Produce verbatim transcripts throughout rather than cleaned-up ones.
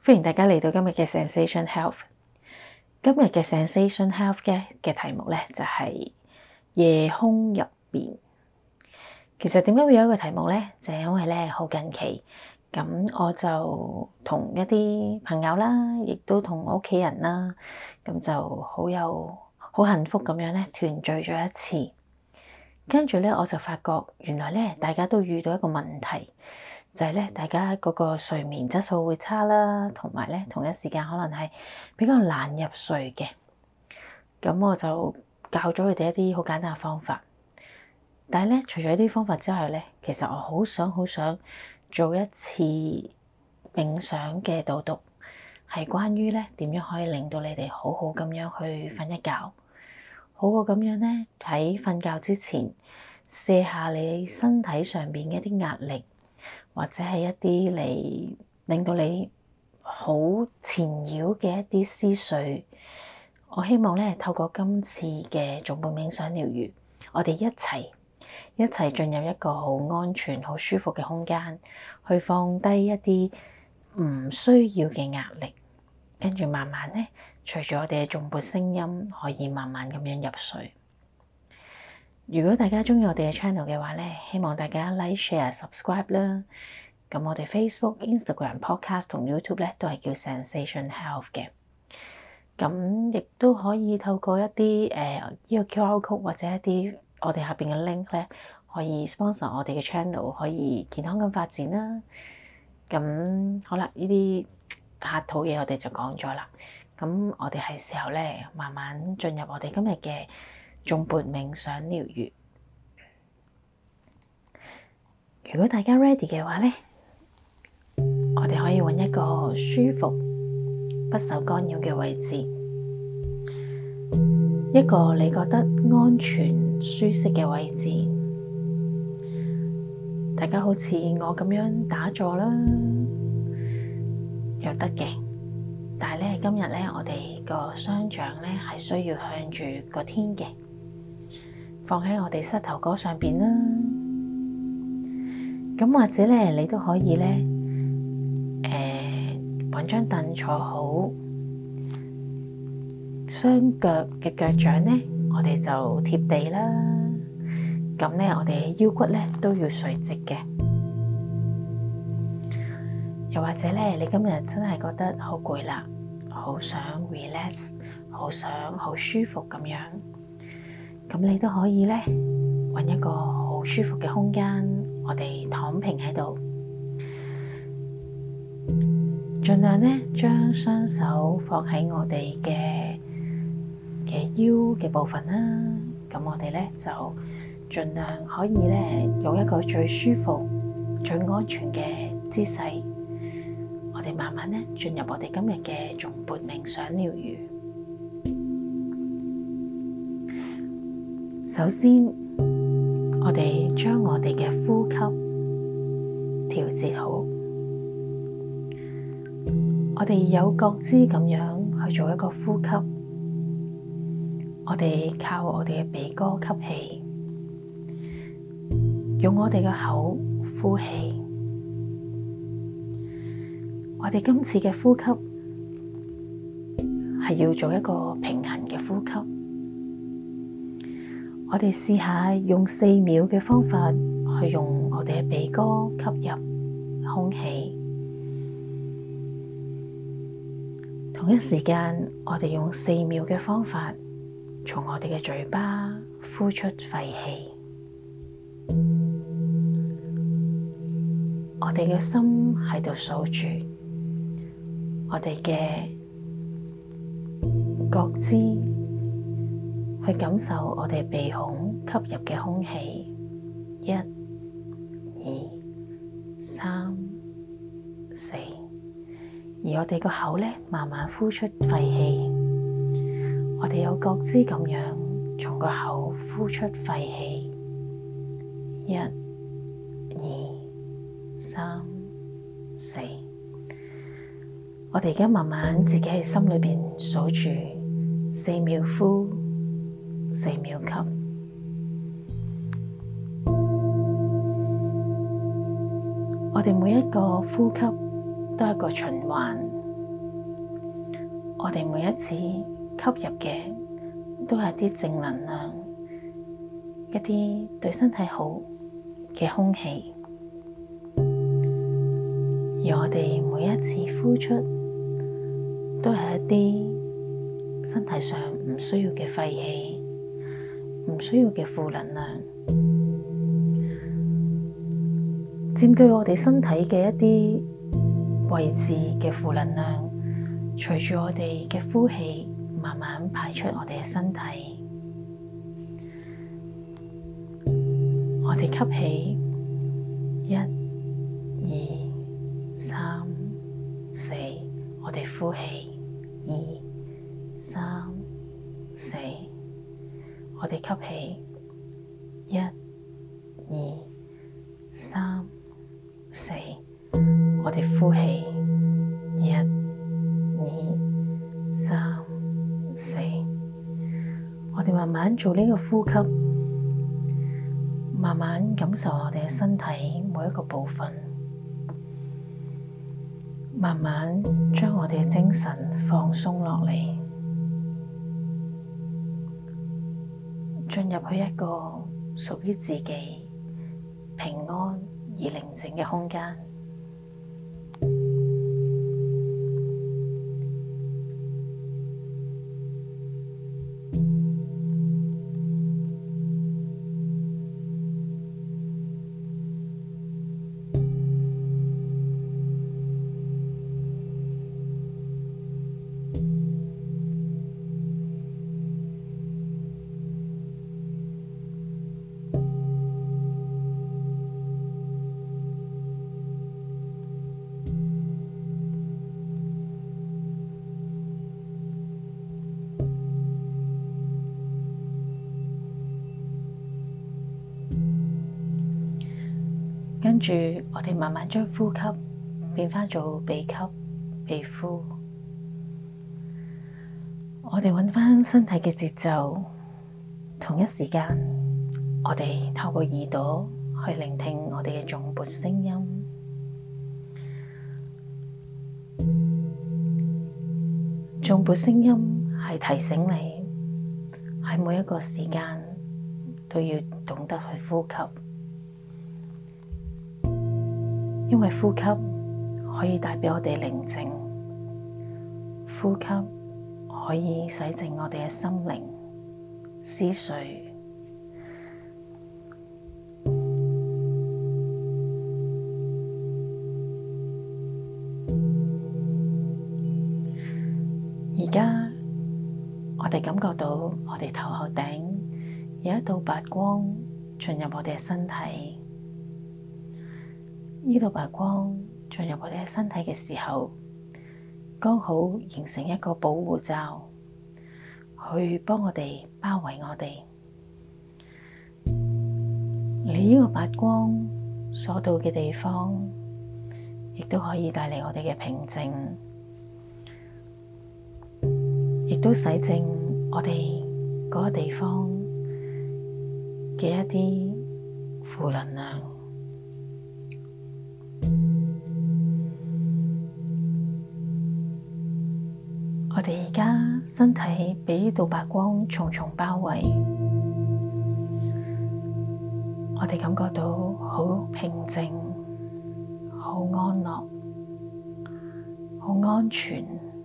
歡迎大家嚟到今日嘅 Zensation Health。今日嘅 Zensation Health 嘅嘅題目咧就係夜空入面。其實點解會有一個題目咧？就係因為咧好近期，咁我就同一啲朋友啦，亦都同屋企人啦，咁就好有好幸福咁樣咧團聚咗一次。跟住咧我就發覺原來咧大家都遇到一個問題。就係咧，大家嗰個睡眠質素會差啦，同埋咧同一時間可能係比較難入睡嘅。咁我就教咗佢哋一啲好簡單嘅方法。但係咧，除咗呢啲方法之外咧，其實我好想好想做一次冥想嘅導讀，係關於咧點樣可以令到你哋好好咁樣去瞓一覺，好好咁樣咧喺瞓覺之前卸下你身體上邊嘅一啲壓力。或者係一啲你令到你好纏繞嘅一啲思緒，我希望咧透過今次嘅頌缽冥想療癒，我哋一齊一齊進入一個好安全、好舒服嘅空間，去放低一啲唔需要嘅壓力，跟住慢慢咧，隨住我哋嘅頌缽聲音，可以慢慢咁樣入睡。如果大家鍾意我哋嘅 channel 嘅話咧，希望大家 like、share、subscribe 啦。咁我哋 Facebook、Instagram、Podcast 同 YouTube 咧都係叫 Zensation Health 嘅。咁亦都可以透過一啲誒呢個 Q R code 或者一啲我哋下邊嘅 link 咧，可以 sponsor 我哋嘅 channel，可以健康咁發展啦。咁好啦，呢啲客套嘢我哋就講咗啦。咁我哋係時候咧，慢慢進入我哋今日嘅頌缽冥想療癒。如果大家 ready 嘅話咧，我哋可以揾一個舒服、不受干擾嘅位置，一個你覺得安全、舒適嘅位置。大家好似我咁樣打坐啦，又得嘅。但係咧，今日咧，我哋個雙掌咧係需要向住個天嘅，放喺我哋膝頭哥上邊啦。咁或者咧，你都可以咧，誒，搵張凳坐好，雙腳嘅腳掌咧，我哋就貼地啦。咁咧，我哋腰骨咧都要垂直嘅。又或者咧，你今日真係覺得好攰啦，好想 relax， 好想好舒服咁樣，咁你都可以咧，搵一個好舒服嘅空間，我哋躺平喺度，盡量咧將雙手放喺我哋嘅嘅腰嘅部分啦。咁我哋咧就盡量可以咧用一個最舒服、最安全嘅姿勢，我哋慢慢咧進入我哋今日嘅頌缽冥想療癒。首先，我哋將我哋嘅呼吸調節好，我哋有覺知咁樣去做一個呼吸。我哋靠我哋嘅鼻哥吸氣，用我哋嘅口呼氣。我哋今次嘅呼吸係要做一個平衡嘅呼吸。我哋試下用四秒嘅方法去用我哋嘅鼻哥吸入空氣，同一時間我哋用四秒嘅方法從我哋嘅嘴巴呼出廢氣。我哋嘅心喺度數住，我哋嘅覺知去感受我哋鼻孔吸入嘅空氣，一、二、三、四，而我哋個口咧慢慢呼出廢氣。我哋有覺知咁樣從個口呼出廢氣，一、二、三、四。我哋而家慢慢自己喺心裏邊數住四秒呼，四秒吸。我哋每一個呼吸都係一個循環， 我哋每一次吸入嘅都係啲正能量，一啲對身體好嘅空氣，而我哋每一次呼出都係一啲身體上唔需要嘅廢氣，唔需要嘅負能量，佔據我哋身體嘅一啲位置嘅負能量，隨住我哋嘅呼氣慢慢排出我哋嘅身體。我哋吸氣，一、二、三、四，我哋呼氣，二、三、四，我哋吸氣，一、二、三、四，我哋呼氣，一、二、三、四，我哋慢慢做呢個呼吸，慢慢感受我哋嘅身體每一個部分，慢慢將我哋嘅精神放鬆落嚟，進入去一個屬於自己平安而寧靜嘅空間。跟住，我哋慢慢將呼吸變返做鼻吸鼻呼。我哋揾返身體嘅節奏，同一時間，我哋透過耳朵去聆聽我哋嘅頌缽聲音。頌缽聲音係提醒你喺每一個時間都要懂得去呼吸。因為呼吸可以帶畀我哋寧靜，呼吸可以洗淨我哋嘅心靈、思緒。而家我哋感覺到我哋頭後頂有一道白光進入我哋嘅身體。呢道白光進入我哋嘅身體嘅時候，剛好形成一個保護罩，去幫我哋包圍我哋。你呢個白光所到嘅地方，亦都可以帶嚟我哋嘅平靜，亦都洗淨我哋嗰個地方嘅一啲負能量。我哋而家身體被呢道白光重重包圍，我哋感覺到好平靜、好安樂、好安全。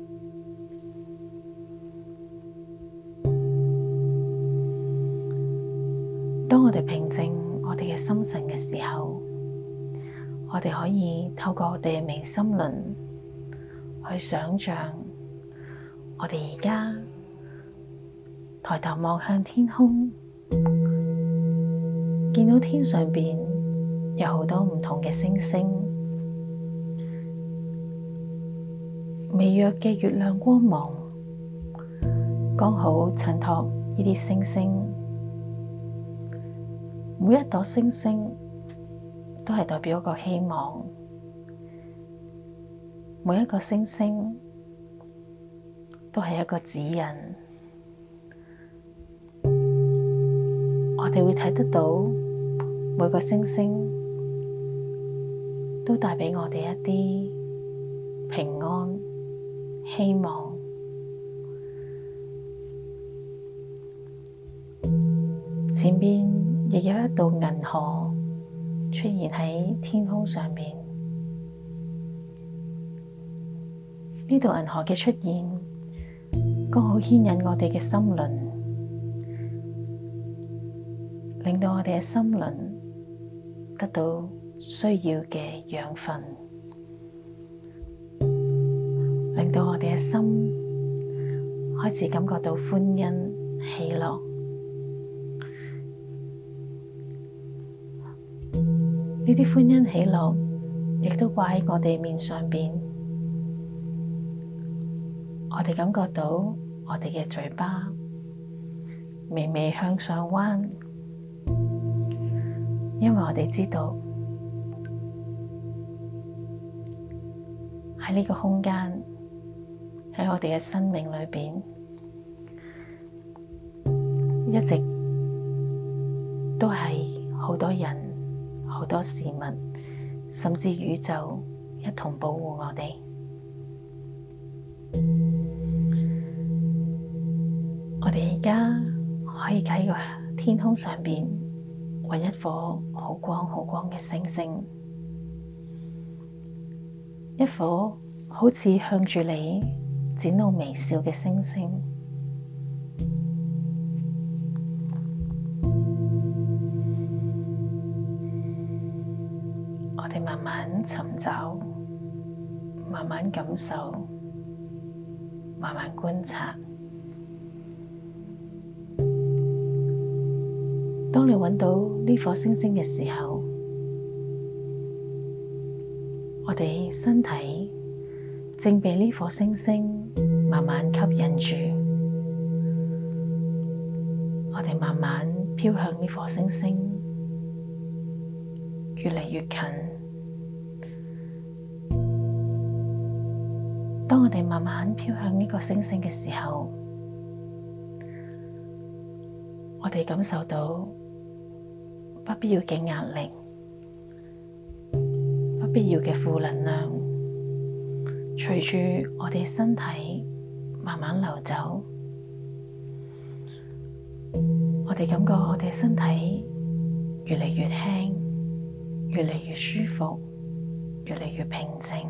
當我哋平靜我哋嘅心神嘅時候，我哋可以透過我哋嘅微心輪去想象。我哋而家抬頭望向天空，見到天上邊有好多唔同嘅星星，微弱嘅月亮光芒剛好襯托呢啲星星。每一朵星星都係代表一個希望，每一個星星都係一個指引，我哋會睇得到每個星星都帶畀我哋一啲平安、希望前邊亦有一道銀河出現喺天空上面。呢道銀河嘅出現，剛好牽引我哋嘅心輪，令到我哋嘅心輪得到需要嘅養分，令到我哋嘅心開始感覺到歡欣喜樂。呢啲歡欣喜樂亦都掛喺我哋面上邊。我哋感覺到我哋嘅嘴巴微微向上彎，因為我哋知道喺呢個空間，喺我哋嘅生命裏邊，一直都係好多人、好多事物，甚至宇宙一同保護我哋。我哋而家可以喺個天空上邊搵一顆好光好光嘅星星，一顆好似向住你展露微笑嘅星星。我哋慢慢尋找，慢慢感受，慢慢觀察。當你揾到呢顆星星嘅時候，我哋身體正被呢顆星星慢慢吸引住，我哋慢慢飄向呢顆星星，越嚟越近。當我哋慢慢飄向呢個星星嘅時候，我哋感受到不必要嘅壓力，不必要嘅負能量，隨住我哋身體慢慢流走，我哋感覺我哋身體越嚟越輕，越嚟越舒服，越嚟越平靜，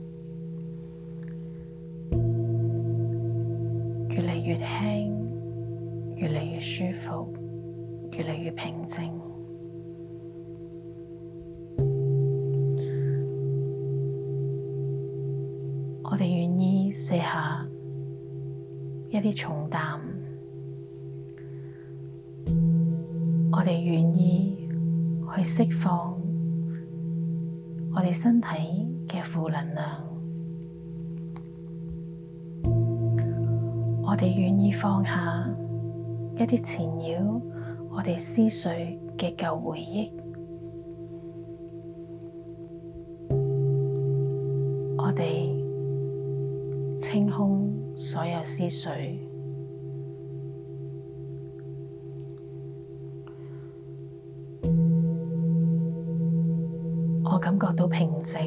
越嚟越輕，越嚟越舒服，越嚟越平靜。我哋願意卸下一啲重擔，我哋願意去釋放我哋身體嘅負能量，我哋願意放下一啲纏繞我哋思緒嘅舊回憶，我哋清空所有思緒，我感覺到平靜，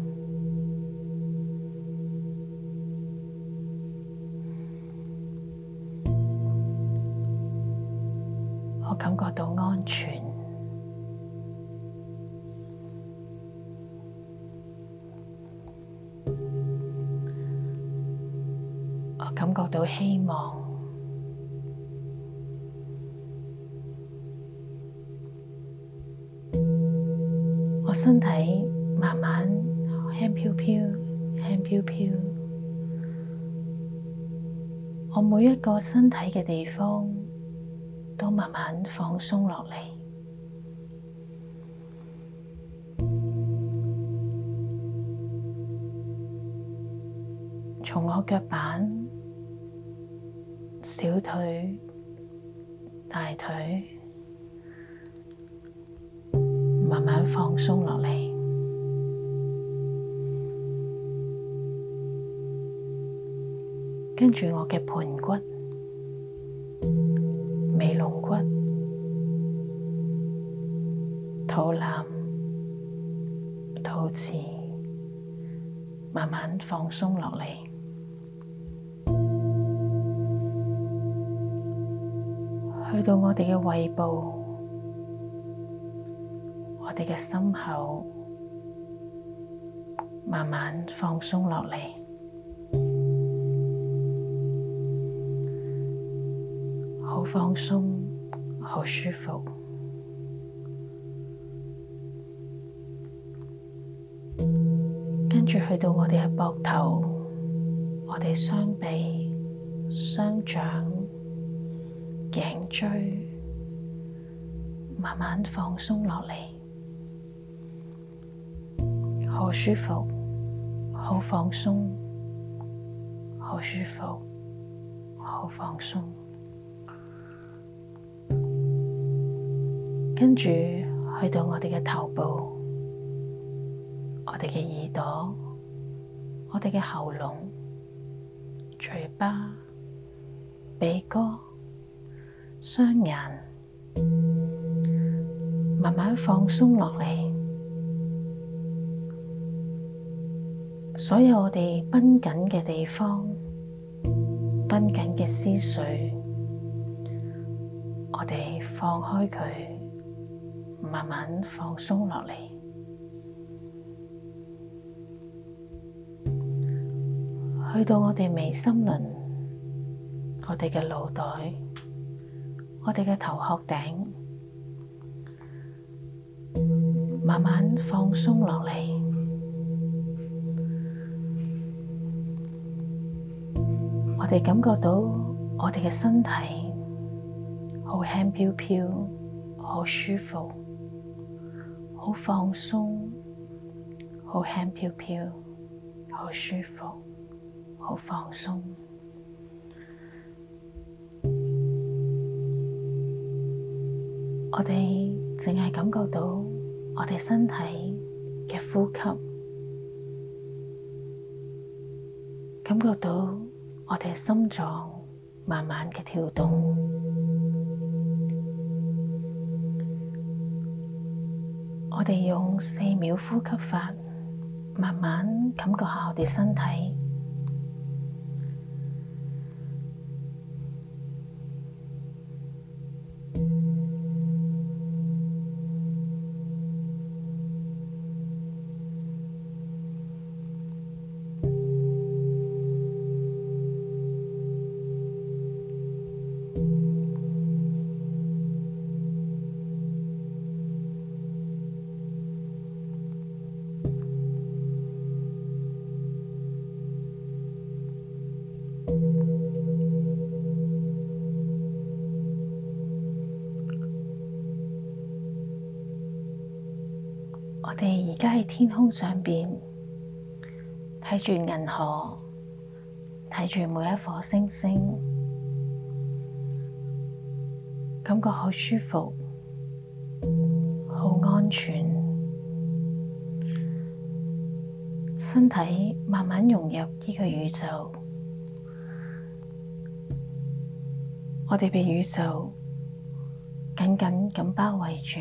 我感覺到安全，我感覺到希望，我身體慢慢輕飄飄，輕飄飄，我每一個身體嘅地方都慢慢放鬆落嚟，從我腳板、小腿、大腿慢慢放鬆落嚟，跟住我嘅盤骨、尾龍骨、肚腩、肚臍慢慢放鬆落嚟，去到我哋嘅胃部，我哋嘅心口，慢慢放鬆落嚟，好放鬆，好舒服。跟住去到我哋嘅膊頭，我哋雙臂、雙掌、頸椎，慢慢放鬆落嚟，好舒服，好放鬆，好舒服，好放鬆。跟住去到我哋嘅頭部，我哋嘅耳朵，我哋嘅喉嚨、嘴巴、鼻哥、雙眼，慢慢放鬆落嚟。所有我哋繃緊嘅地方，繃緊嘅思緒，我哋放開佢，慢慢放鬆落嚟。去到我哋眉心輪，我哋嘅腦袋，我哋嘅頭殼頂，慢慢放鬆落嚟。我哋感覺到我哋嘅身體好輕飄飄，好舒服，好放鬆，好輕飄飄，好舒服，好放鬆。我哋淨係感覺到我哋身體嘅呼吸，感覺到我哋心臟慢慢嘅跳動。我哋用四秒呼吸法，慢慢感覺下我哋身體。我哋而家喺天空上邊睇住銀河，睇住每一顆星星，感覺好舒服，好安全，身體慢慢融入呢個宇宙，我哋被宇宙緊緊咁包圍住。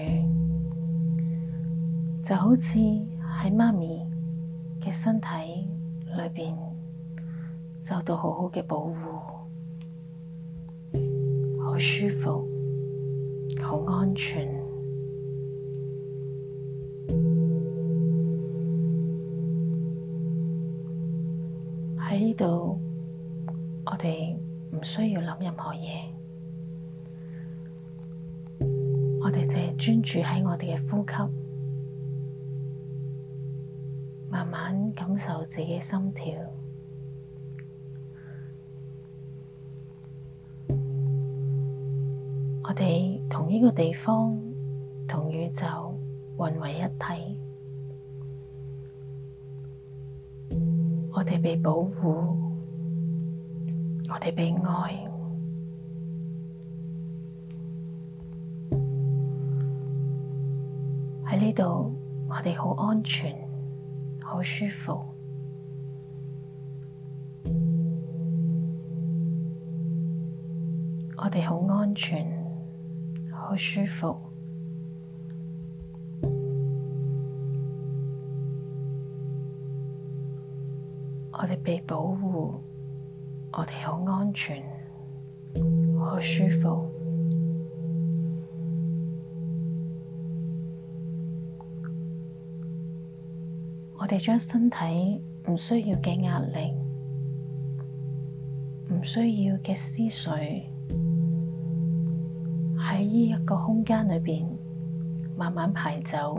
就好似喺媽咪嘅身體裏邊受到好好嘅保護，好舒服，好安全。喺呢度，我哋唔需要諗任何嘢，我哋淨係專注喺我哋嘅呼吸。慢慢感受自己心跳，我哋同呢個地方、同宇宙混為一體，我哋被保護，我哋被愛，喺呢度我哋好安全，好舒服，我哋好安全，好舒服，我哋被保護，我哋好安全，好舒服。 我哋將身體唔需要嘅壓力、唔需要嘅思緒喺呢一個空間裏邊慢慢排走。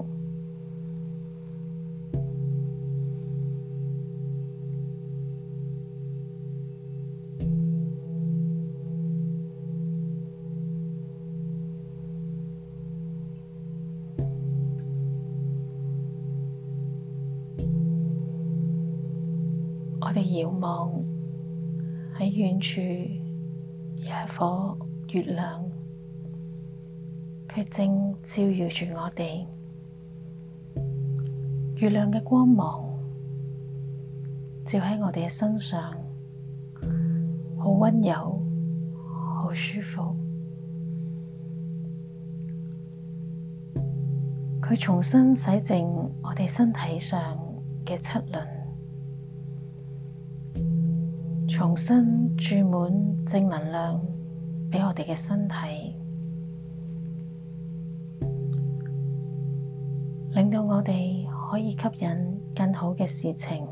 我哋遙望喺遠處有一顆月亮，佢正照耀住我哋。月亮嘅光芒照喺我哋嘅身上，好溫柔，好舒服。佢重新洗淨我哋身體上嘅七輪，重新注滿正能量畀我哋嘅身體，令到我哋可以吸引更好嘅事情、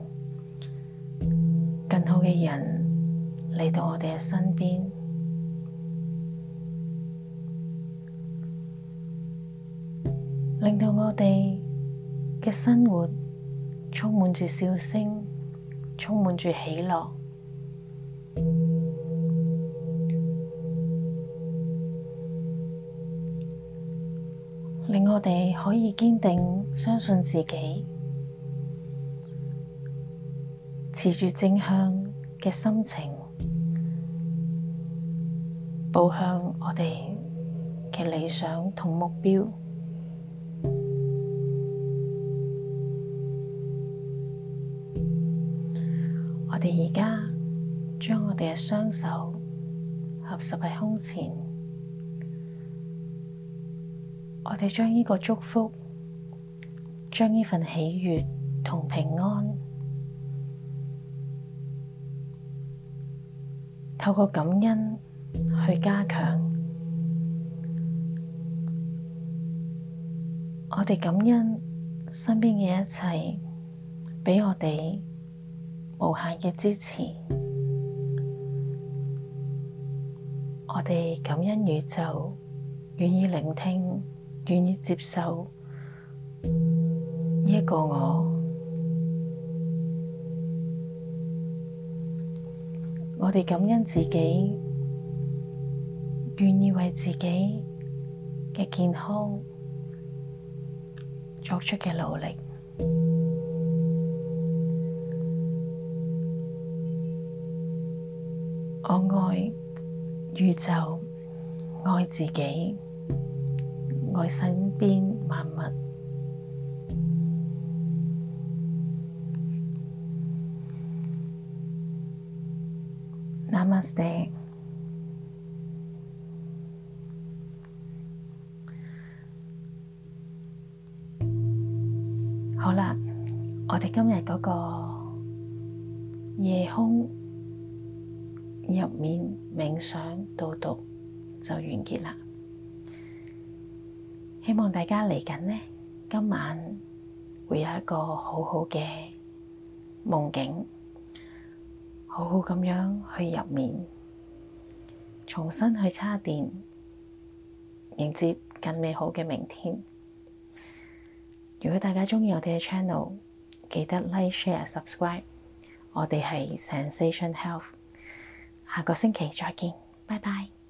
更好嘅人嚟到我哋嘅身邊，令到我哋嘅生活充滿住笑聲，充滿住喜樂。令我哋可以堅定相信自己，持住正向嘅心情，步向我哋嘅理想同目標。我哋而家將我哋嘅雙手合十喺胸前。我哋將呢個祝福，將呢份喜悅同平安，透過感恩去加強。我哋感恩身邊嘅一切，畀我哋無限嘅支持。我哋感恩宇宙，願意聆聽，願意接受呢一個我，我哋感恩自己，願意為自己嘅健康作出嘅努力。我愛宇宙，愛自己，愛身邊萬物。Namaste。好啦，我哋今日嗰個夜空入面冥想導讀就完結啦。希望大家嚟緊呢，今晚會有一個好好嘅夢境，好好咁樣去入眠，重新去叉電，迎接更美好嘅明天。如果大家鍾意我哋嘅 channel， 記得 like、share、subscribe。我哋係 Zensation Health，下個星期再見，拜拜。